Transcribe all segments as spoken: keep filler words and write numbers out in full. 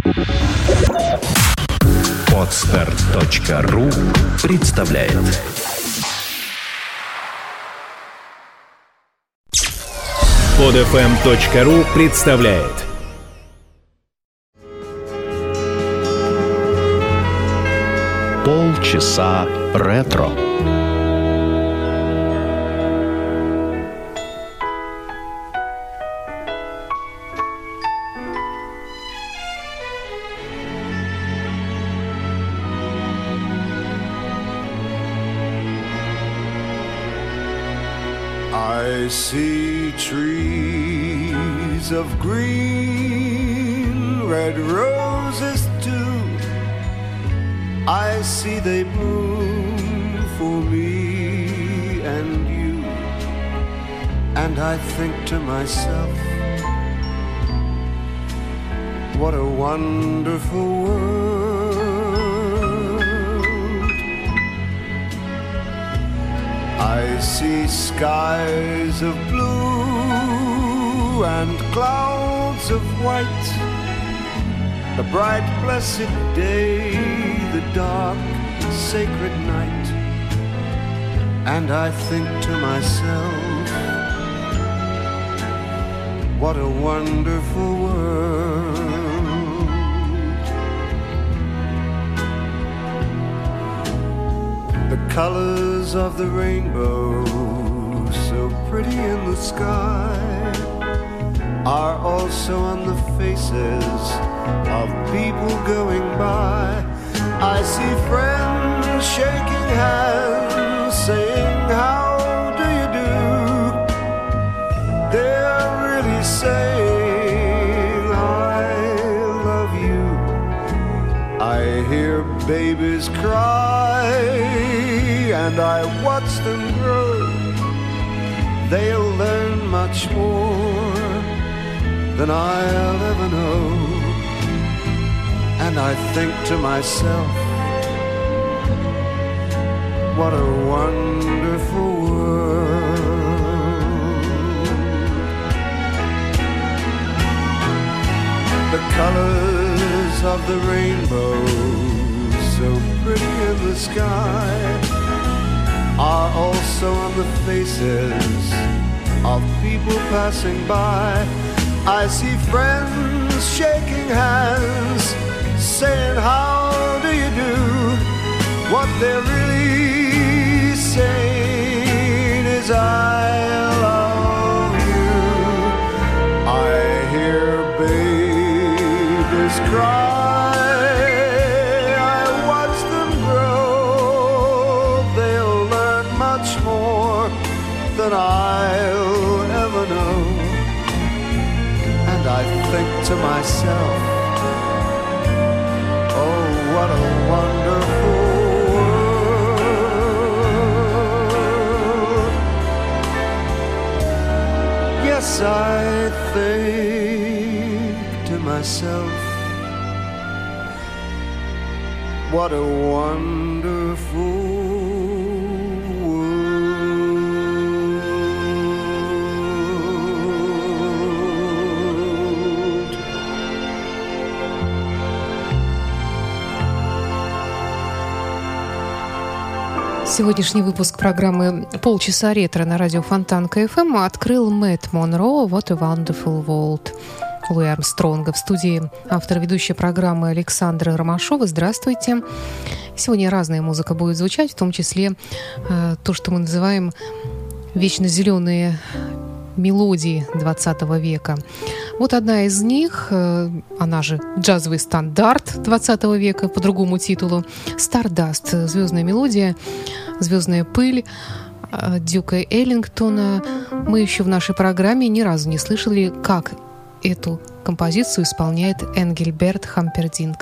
Podster.ру представляет. Podfm.ру представляет. Полчаса ретро. I see trees of green, red roses too. I see they bloom for me and you. And I think to myself, what a wonderful world. I see skies of blue and clouds of white, the bright blessed day, the dark sacred night. And I think to myself, what a wonderful world. The colors of the rainbow, so pretty in the sky, are also on the faces of people going by. I see friends shaking hands, saying, how do you do? They're really saying, I love you. I hear babies cry, and I watch them grow. They'll learn much more than I'll ever know. And I think to myself, what a wonderful world. The colors of the rainbow, so pretty in the sky, are also on the faces of people passing by. I see friends shaking hands, saying, how do you do? What they're really saying is, I love you. I hear babies cry, I watch them grow. They'll learn much more than I'll ever know. And I think to myself, oh, what a wonderful world. Yes, I think to myself, what a wonderful Сегодняшний выпуск программы «Полчаса ретро» на радио Фонтанка эф эм открыл Мэтт Монро «What a Wonderful World» Луи Армстронга. В студии автор-ведущая программы Александра Ромашова. Здравствуйте. Сегодня разная музыка будет звучать, в том числе э, то, что мы называем вечно зеленые мелодии двадцатого века. Вот одна из них, она же джазовый стандарт двадцатого века по другому титулу, «Стардаст», звездная мелодия, звездная пыль Дюка Эллингтона. Мы еще в нашей программе ни разу не слышали, как эту композицию исполняет Энгельберт Хампердинк.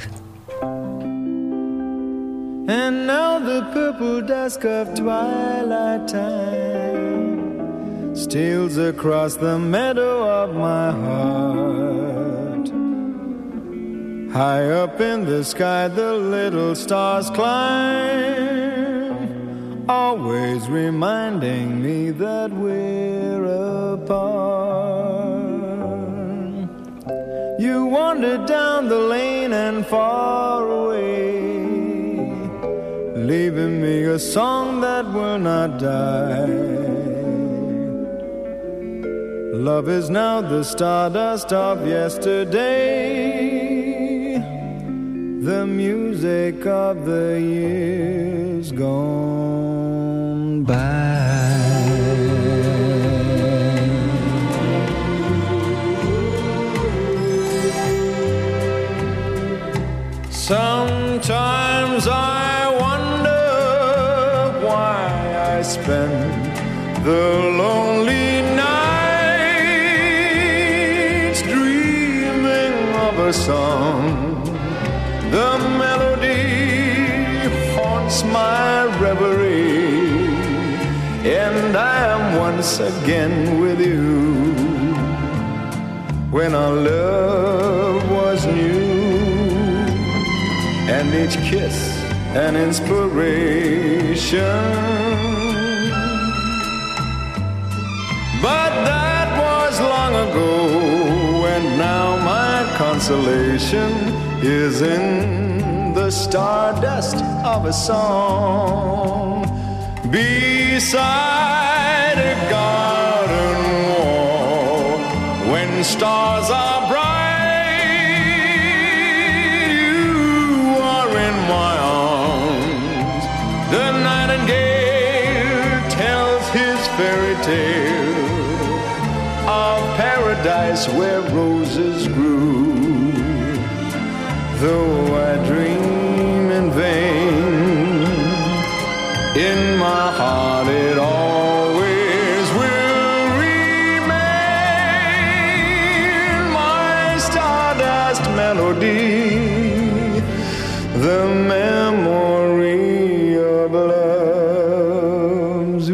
And now the purple dusk of twilight time steals across the meadow of my heart. High up in the sky the little stars climb, always reminding me that we're apart. You wandered down the lane and and far away, leaving me a song that will not die. Love is now the stardust of yesterday, the music of the years gone by. Sometimes I wonder why I spend the lonely nights dreaming of a song. The melody haunts my reverie, and I am once again with you when our love was new, and each kiss an inspiration. But that was long ago, and now my consolation is in the stardust of a song beside a garden wall. When stars are bright, you are in my arms. The nightingale tells his fairy tale of paradise where roses grew. Though I dream in vain, in my heart it always will remain my stardust melody, the memory of love's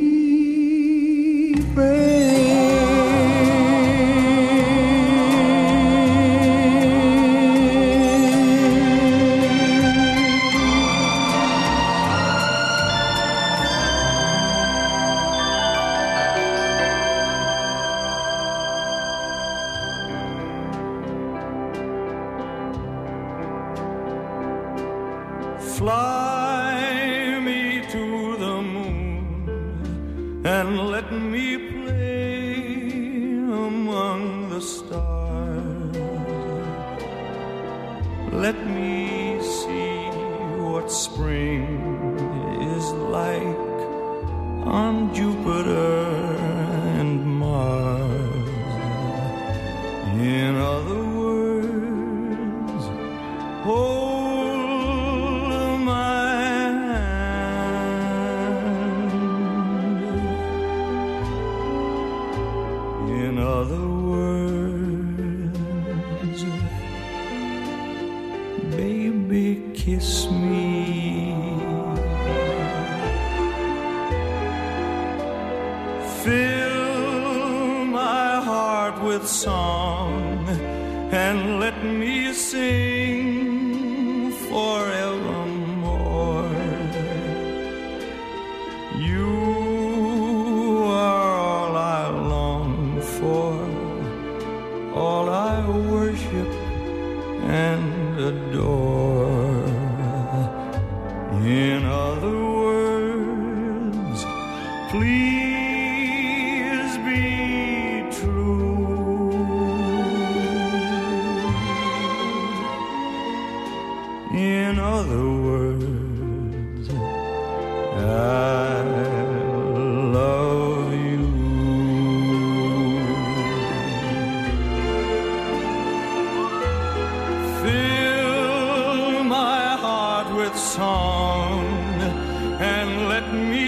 Fly me to the moon and let me play among the stars. Let me see what spring is like on Jupiter and Mars. In other words, hold kiss me. Fill my heart with song and let me sing forevermore. You are all I long for, all I worship and adore. In other words, please be true. In other words, I love you. Fill my heart with song and let me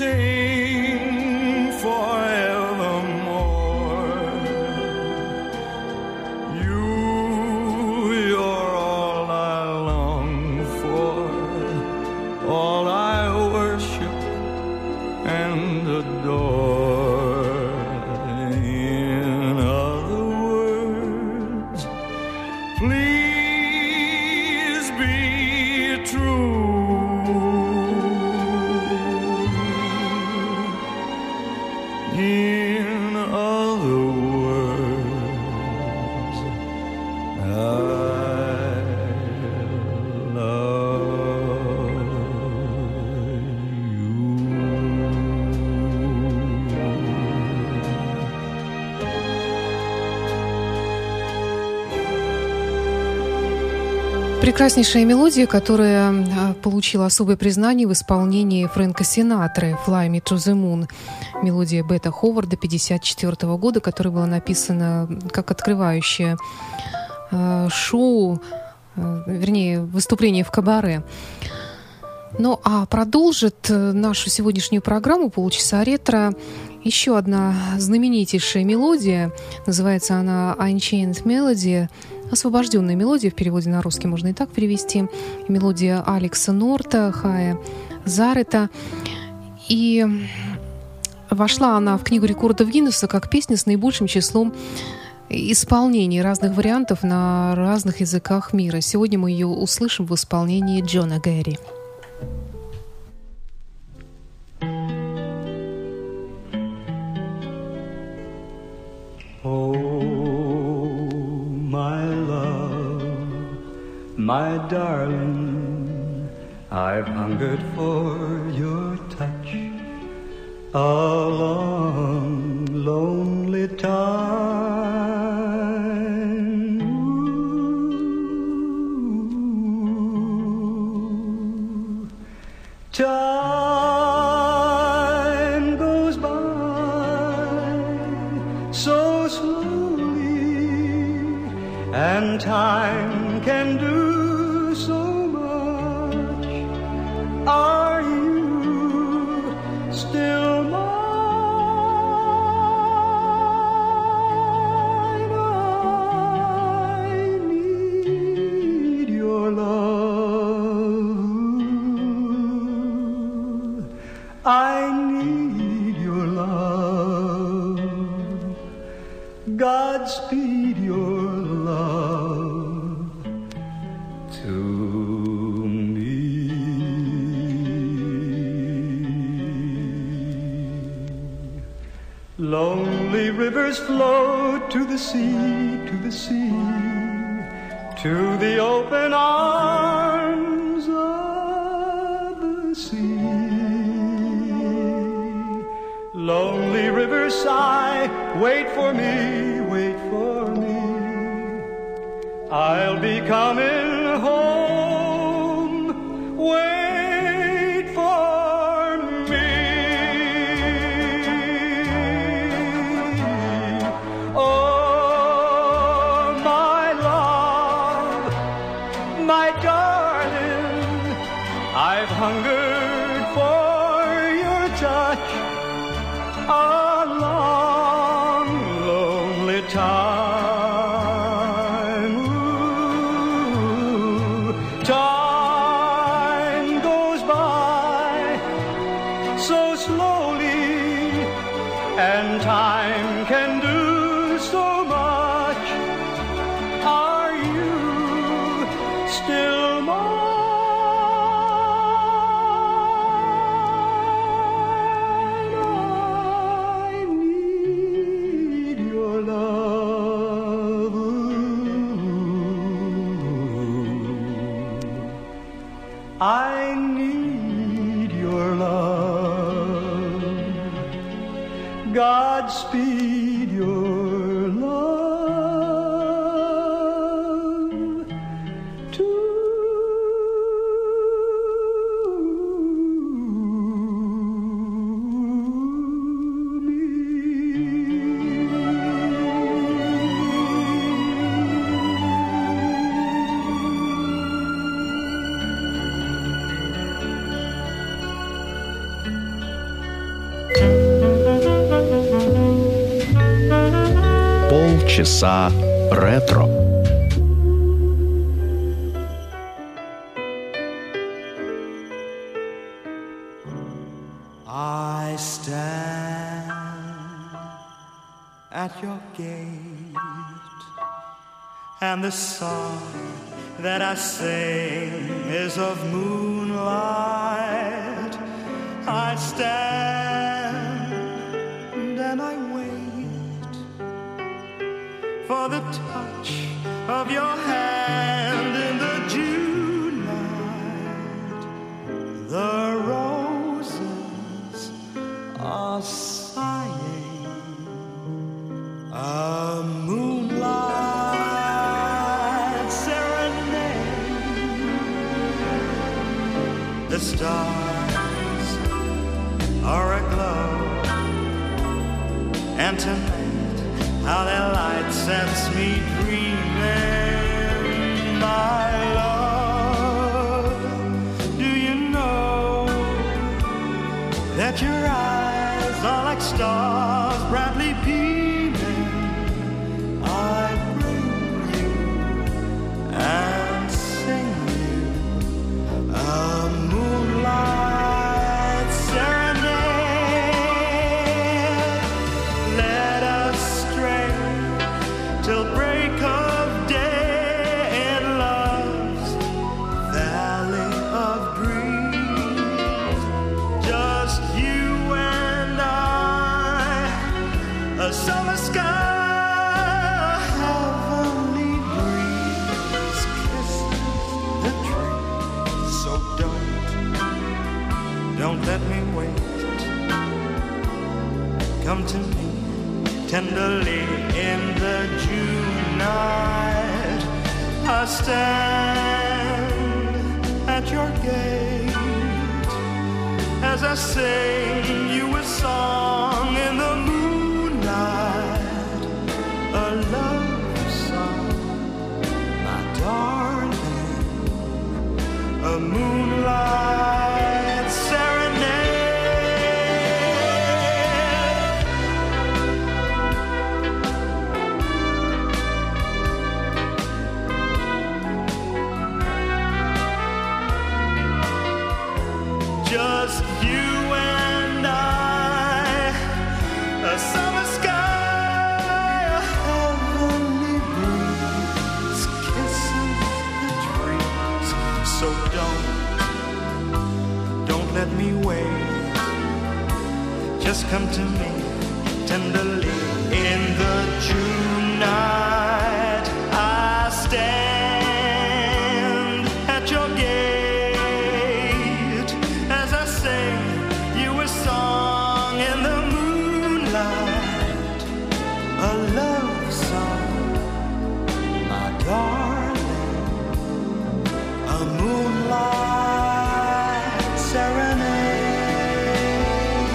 sing forevermore. You, you're all I long for, all I worship and adore. In other words, please be true. In other words, I Прекраснейшая мелодия, которая получила особое признание в исполнении Фрэнка Синатры «Fly Me to the Moon». Мелодия Бетта Ховарда пятьдесят четвёртого года, которая была написана как открывающее э, шоу, э, вернее, выступление в кабаре. Ну, а продолжит нашу сегодняшнюю программу «Полчаса ретро» еще одна знаменитейшая мелодия. Называется она «Unchained Melody». «Освобожденная мелодия», в переводе на русский можно и так перевести. Мелодия Алекса Норта, Хая Зарета. И вошла она в Книгу рекордов Гиннесса как песня с наибольшим числом исполнений разных вариантов на разных языках мира. Сегодня мы ее услышим в исполнении Джона Гэри. My darling, I've hungered for your touch a long, lonely time. Ooh. Time goes by so slowly, and time can do Godspeed your love to me. Lonely rivers flow to the sea, to the sea, to the open arms of the sea. Lonely rivers sigh, wait for me, wait for me. I'll be coming home, wait for me. Oh, my love, my darling, I've hungered for your touch a long, lonely time. Ooh, time goes by so slowly, and time can do so much. Are you still mine? I need your love. Godspeed your love to Полчаса ретро. I stand at your gate, and the song that I sing is of moonlight. I stand and I wait for the touch of your hand in the June night. The roses are sighing, a moonlight serenade The stars are aglow, and tonight how their light sets me dreaming. My love, do you know that your eyes are like stars brightly beaming? I bring you and sing you a moonlight serenade. Let us stray till break of day in love's valley of dreams. Just you and I, a summer sky, a heavenly breeze kisses the trees. So don't, don't let me wait. Come to me tenderly in the June night. I stand at your gate as I sing you a song in the moonlight, a love song, my darling, a moonlight serenade. Just you and I, a summer sky, a heavenly breeze kisses the trees. So don't, don't let me wait. Just come to me tenderly in the June night. I stand at your gate as I sing you a song in the moonlight, a love song, my darling, a moonlight serenade.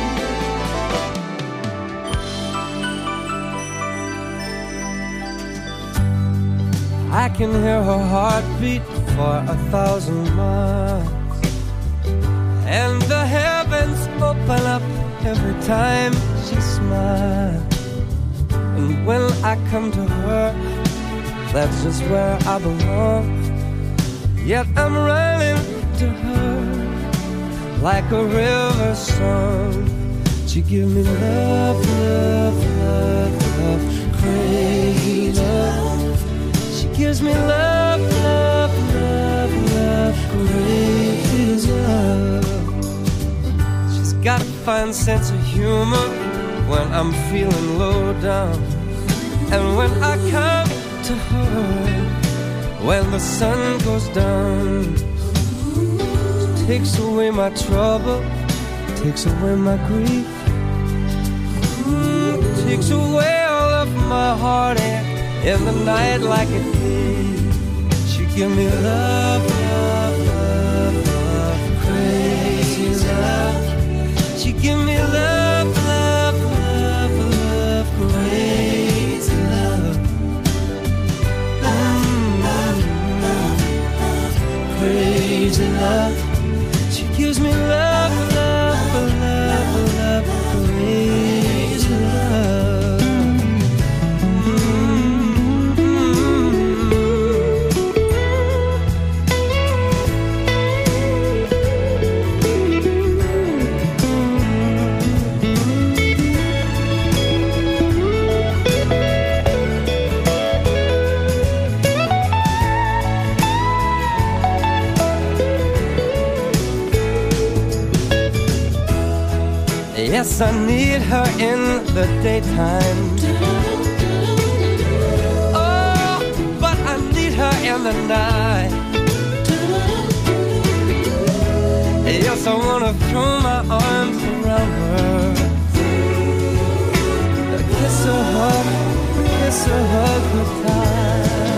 I can hear her heartbeat for a thousand miles, and the heavens open up every time she smiles. And when I come to her, that's just where I belong. Yet I'm running to her like a river song. She give me love, love, love, love, crazy love. She gives me love, love, love, love, crazy love. She's got a fine sense of humor when I'm feeling low down, and when I come to her when the sun goes down. She takes away my trouble, takes away my grief, mm, takes away all of my heartache in the night like a thief. She give me love, love, love, love, crazy love. She give me love, love, love, love, crazy love. Crazy love. She gives me love, love, love, love, crazy love. Yes, I need her in the daytime. Oh, but I need her in the night. Yes, I wanna throw my arms around her, kiss her, hug, kiss her, hug her tight.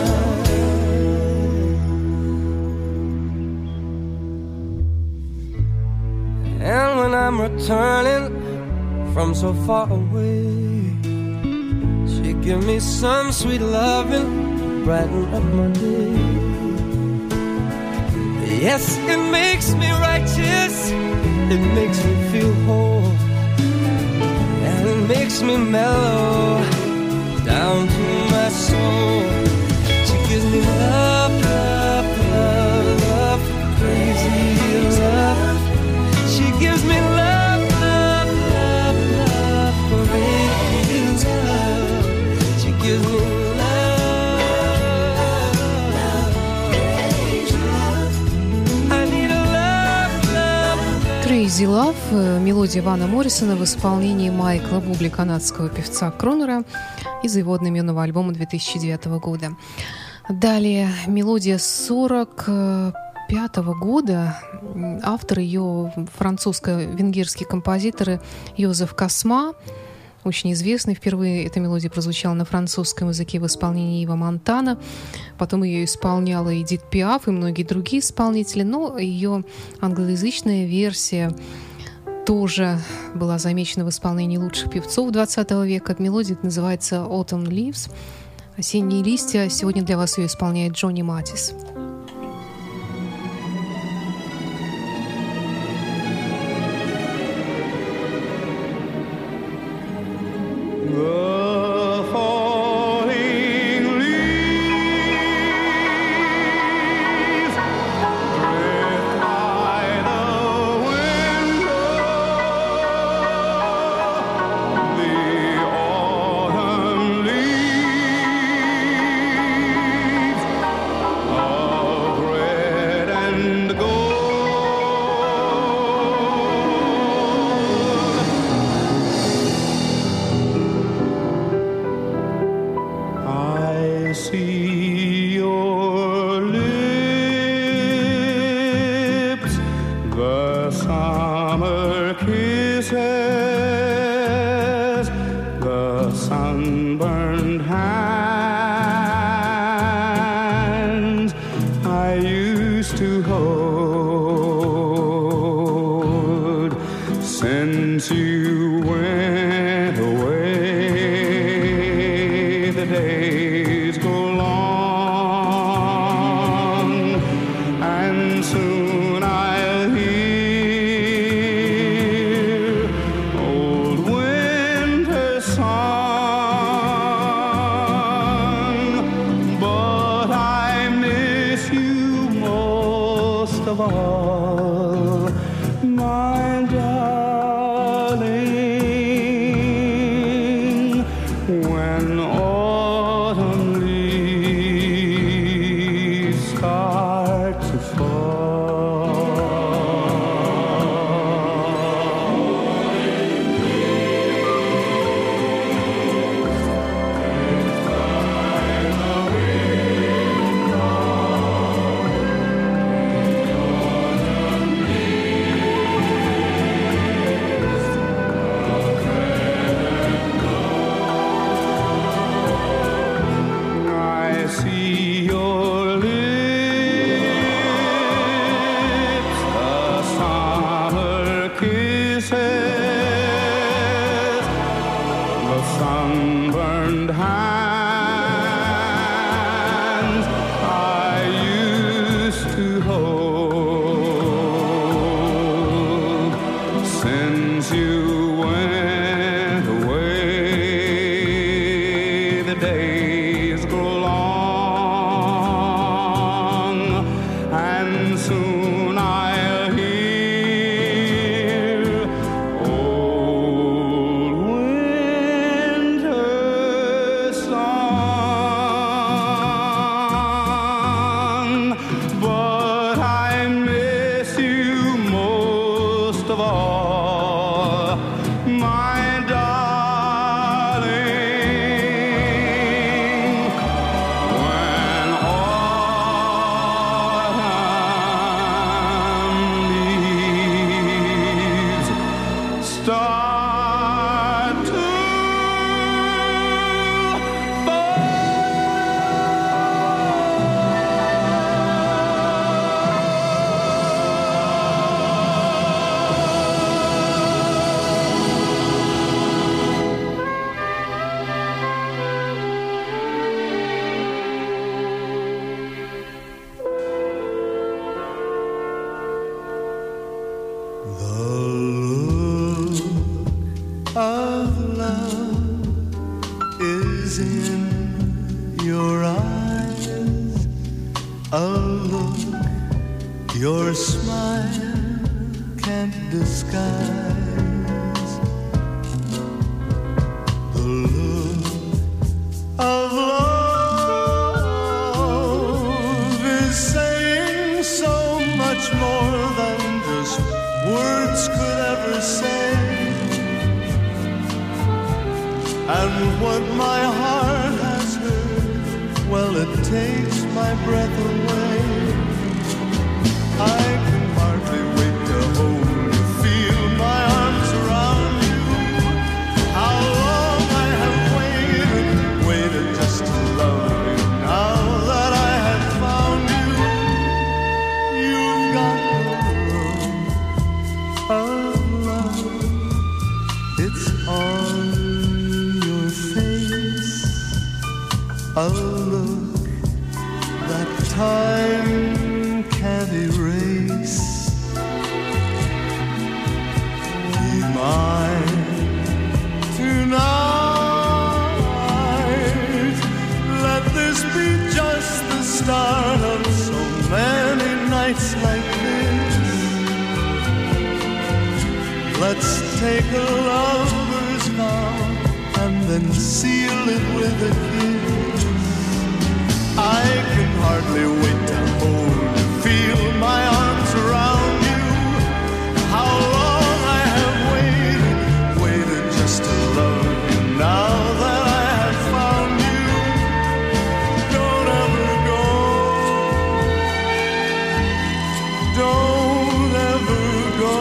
I'm returning from so far away. She give me some sweet loving, brighten up my day. Yes, it makes me righteous, it makes me feel whole, and it makes me mellow down to my soul. She gives me love, love, love, love, crazy love. She gives me love, love, love, love, crazy love. She gives me Crazy Love, мелодия Вана Моррисона в исполнении Майкла Бубли, канадского певца Кронера, из его одноименного альбома две тысячи девятого года. Далее мелодия сорок пятого года. Автор ее французско-венгерский композитор Йозеф Косма, очень известный. Впервые эта мелодия прозвучала на французском языке в исполнении Ива Монтана. Потом ее исполняла Эдит Пиаф и многие другие исполнители. Но ее англоязычная версия тоже была замечена в исполнении лучших певцов двадцатого века. Мелодия называется «Autumn Leaves» — «Осенние листья». Сегодня для вас ее исполняет Джонни Матис. The falling leaves drift by the window. The autumn leaves of red and I see your lips, the summer kisses, the sunburned hands I used to hold since you went away. The days go long, and soon I'll hear old winter's song. But I miss you most of all, my darling, when autumn leaves start to fall. I see your lips, the summer kisses, the sunburned hands I used to hold since you went away. The days grow long, and soon I'll hear old winter's song. But I miss you most of all, my darling, when autumn Your smile can't disguise the look of love is saying so much more than just words could ever say. And what my heart has heard, well, it takes my breath away. I can hardly wait to hold you, feel my arms around you. How long I have waited, waited just to love you. Now that I have found you, you've got the look of love. It's on your face, a look that time can't erase. Be mine tonight. Let this be just the start of so many nights like this. Let's take a lover's vow and then seal it with a kiss. I can hardly wait to hold you, feel my arms around you. How long I have waited, waited just to love you. Now that I have found you, don't ever go, don't ever go.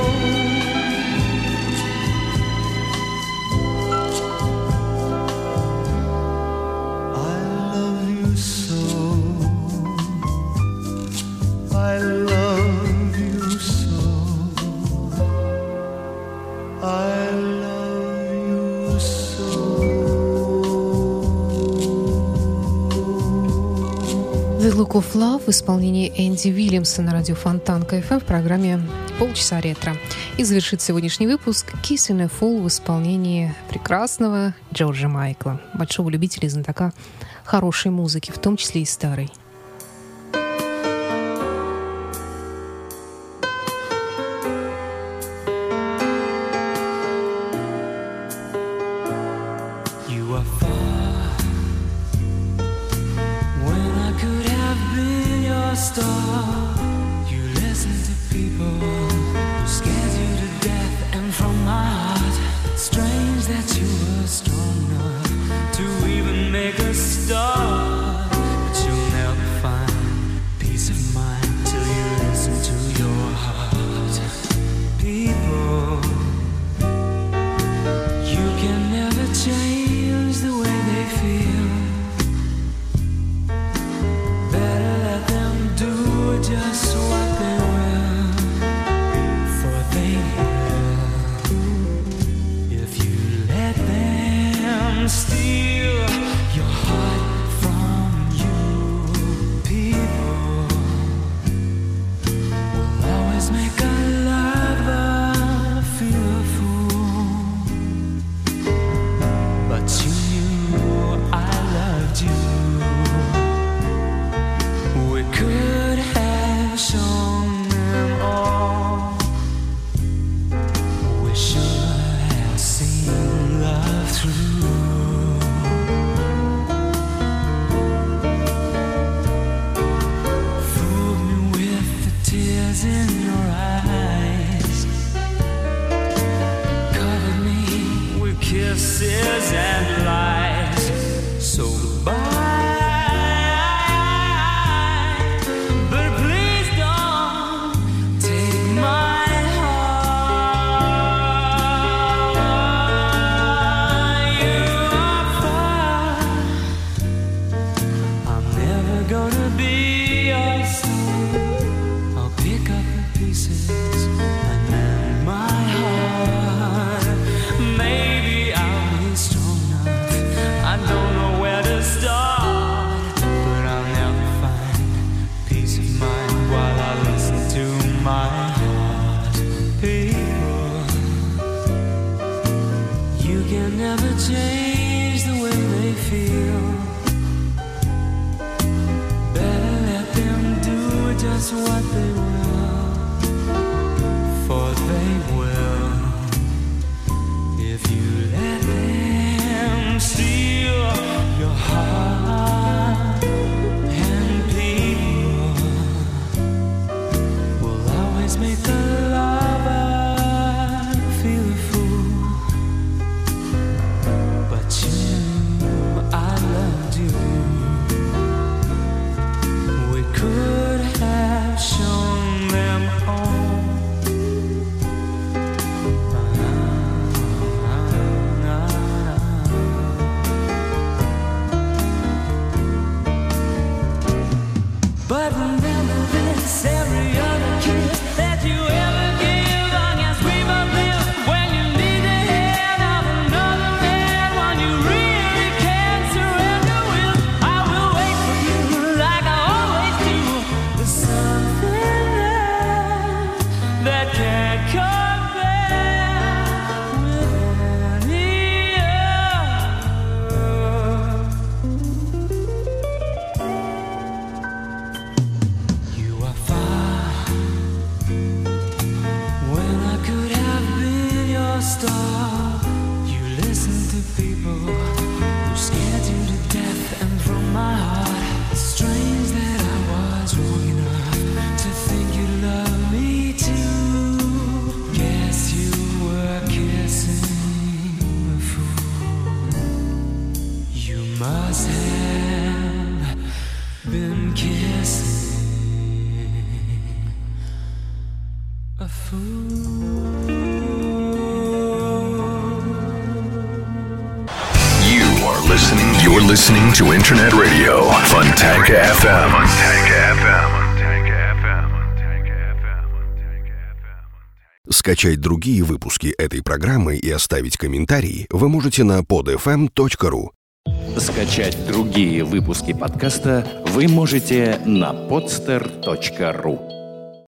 I love you so, I love you so, I love you so. The Look of Love в исполнении Энди Уильямса на радио Фонтанка эф эм в программе «Полчаса ретро». И завершит сегодняшний выпуск «Kissing a Fool» в исполнении прекрасного Джорджа Майкла, большого любителя и знатока хорошей музыки, в том числе и старой. You are far when I could have been your star. You listen to people who scared you to death, and from my heart, strange that you were strong enough to even make a start. But you'll never find peace of mind till you listen to your heart. People, you can never change the way they feel. Better let them do just what they will, for they will. If you let them steal your heart from you, people will always make a lover feel a fool. But you knew I loved you. We could have shown them all. We should have seen love through. Fooled me with the tears in your eyes, covered me with kisses and lies. So goodbye, but please don't take my heart. You are far. I'm never gonna be your son. I'll pick up the never change the way they feel. Better let them do just what they will, for they will if you let them steal your heart. And people will always make the lover feel a fool. But you, I loved you. We could have shown them all. But remember this, every other kiss that you ever give, long as we both live. When you need the hand of another man, when you really can't surrender with, I will wait for you like I always do. There's something there that can't compare with any other. You are far when I could have been your star. You listen to people who scared you to death, and from my heart, it's strange that I was wrong enough to think you love me too. Guess you were kissing a fool. You must have been kissing a fool. You are listening. You're listening to Internet Radio Fontanka эф эм. Fontanka эф эм. Скачать другие выпуски этой программы и оставить комментарий вы можете на под эф эм точка ру. Скачать другие выпуски подкаста вы можете на подстер точка ру.